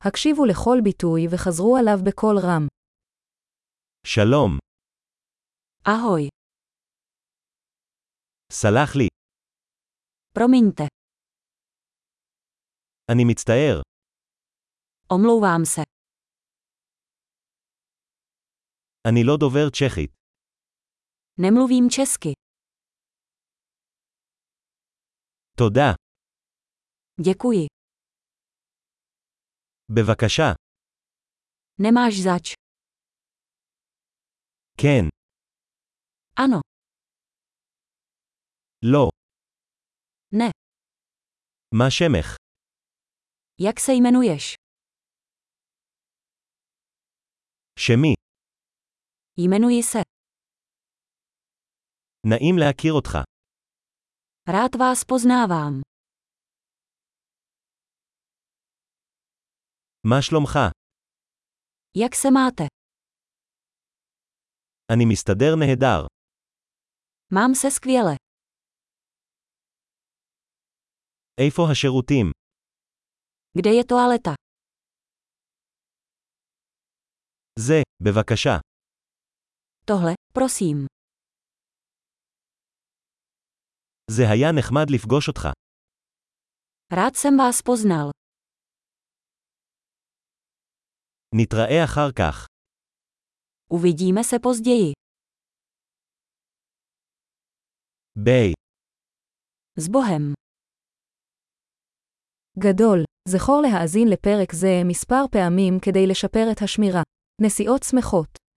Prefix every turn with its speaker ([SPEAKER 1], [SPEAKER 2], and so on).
[SPEAKER 1] הקשיבו לכל ביטוי וחזרו עליו בקול רם.
[SPEAKER 2] שלום,
[SPEAKER 3] Ahoj,
[SPEAKER 2] סלח לי,
[SPEAKER 3] promiňte,
[SPEAKER 2] אני מצטער,
[SPEAKER 3] omlouvám se,
[SPEAKER 2] אני לא דובר צ'כית.
[SPEAKER 3] nemluvím česky,
[SPEAKER 2] תודה,
[SPEAKER 3] děkuji,
[SPEAKER 2] בבקשה,
[SPEAKER 3] nemáš zač,
[SPEAKER 2] כן,
[SPEAKER 3] ano,
[SPEAKER 2] לא,
[SPEAKER 3] ne,
[SPEAKER 2] מה שמך?
[SPEAKER 3] jak se jmenuješ,
[SPEAKER 2] שמי,
[SPEAKER 3] jmenuji se,
[SPEAKER 2] נעים להכיר אותך.
[SPEAKER 3] rád vás poznávám,
[SPEAKER 2] מה שלומך?
[SPEAKER 3] jak se máte,
[SPEAKER 2] אני מסתדר נהדר.
[SPEAKER 3] mám se skvěle,
[SPEAKER 2] איפה השירותים?
[SPEAKER 3] kde je toaleta,
[SPEAKER 2] זה, בבקשה.
[SPEAKER 3] tohle, prosím,
[SPEAKER 2] זה היה נחמד לפגוש אותך.
[SPEAKER 3] rád jsem vás poznal,
[SPEAKER 2] נתראה אחר כך.
[SPEAKER 3] uvidíme se později,
[SPEAKER 2] ביי.
[SPEAKER 3] s Bohem.
[SPEAKER 1] גדול, זכור להאזין לפרק זה מספר פעמים כדי לשפר את השמירה. נסיעות שמחות.